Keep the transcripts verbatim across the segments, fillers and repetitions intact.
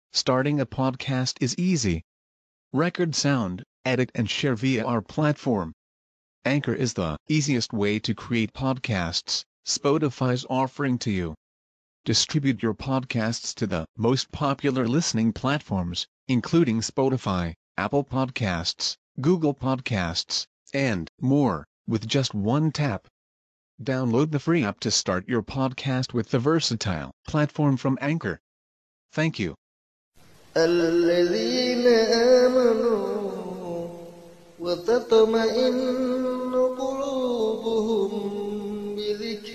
Starting a podcast is easy. Record sound, edit and share via our platform. Anchor is the easiest way to create podcasts Spotify's offering to you. Distribute your podcasts to the most popular listening platforms, including Spotify, Apple Podcasts, Google Podcasts, and more, with just one tap. Download the free app to start your podcast with the versatile platform from Anchor. Thank you. الذين آمنوا وتطمئن قلوبهم بذكر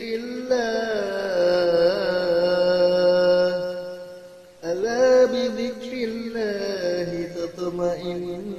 الله ألا بذكر الله تطمئن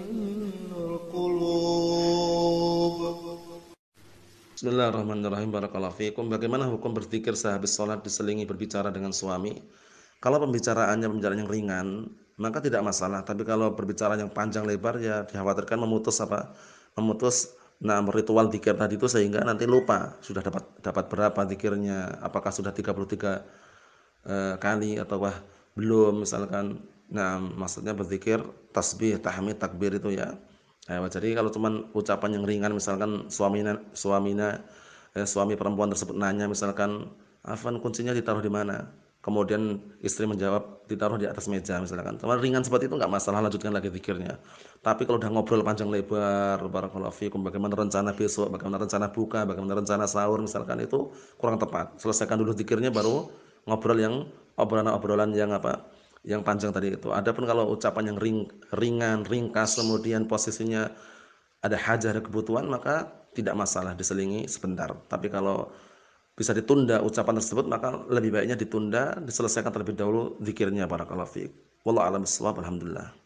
القلوب. Bismillahirrahmanirrahim. Barakallahu fiikum. Bagaimana hukum berzikir sehabis sholat diselingi berbicara dengan suami? Kalau pembicaraannya pembicaraan yang ringan, maka tidak masalah. Tapi kalau berbicara yang panjang lebar, ya dikhawatirkan memutus apa? Memutus nah ritual zikir tadi itu, sehingga nanti lupa sudah dapat dapat berapa zikirnya, apakah sudah tiga puluh tiga eh, kali ataukah belum misalkan. Nah, maksudnya berzikir tasbih, tahmid, takbir itu ya. Nah, jadi kalau cuman ucapan yang ringan, misalkan suaminya suaminya eh, suami perempuan tersebut nanya misalkan, "Afan, kuncinya ditaruh di mana?" Kemudian istri menjawab, "Ditaruh di atas meja," misalkan. Cuma ringan seperti itu enggak masalah, lanjutkan lagi zikirnya. Tapi kalau udah ngobrol panjang lebar, barakallahu fikum, bagaimana rencana besok, bagaimana rencana buka, bagaimana rencana sahur misalkan, itu kurang tepat. Selesaikan dulu zikirnya baru ngobrol yang obrolan-obrolan yang apa? Yang panjang tadi itu. Adapun kalau ucapan yang ring, ringan, ringkas, kemudian posisinya ada hajah, ada kebutuhan, maka tidak masalah diselingi sebentar. Tapi kalau bisa ditunda ucapan tersebut, maka lebih baiknya ditunda, diselesaikan terlebih dahulu zikirnya. Barakallahu fiik. Wallahu a'lam bishawab. Alhamdulillah.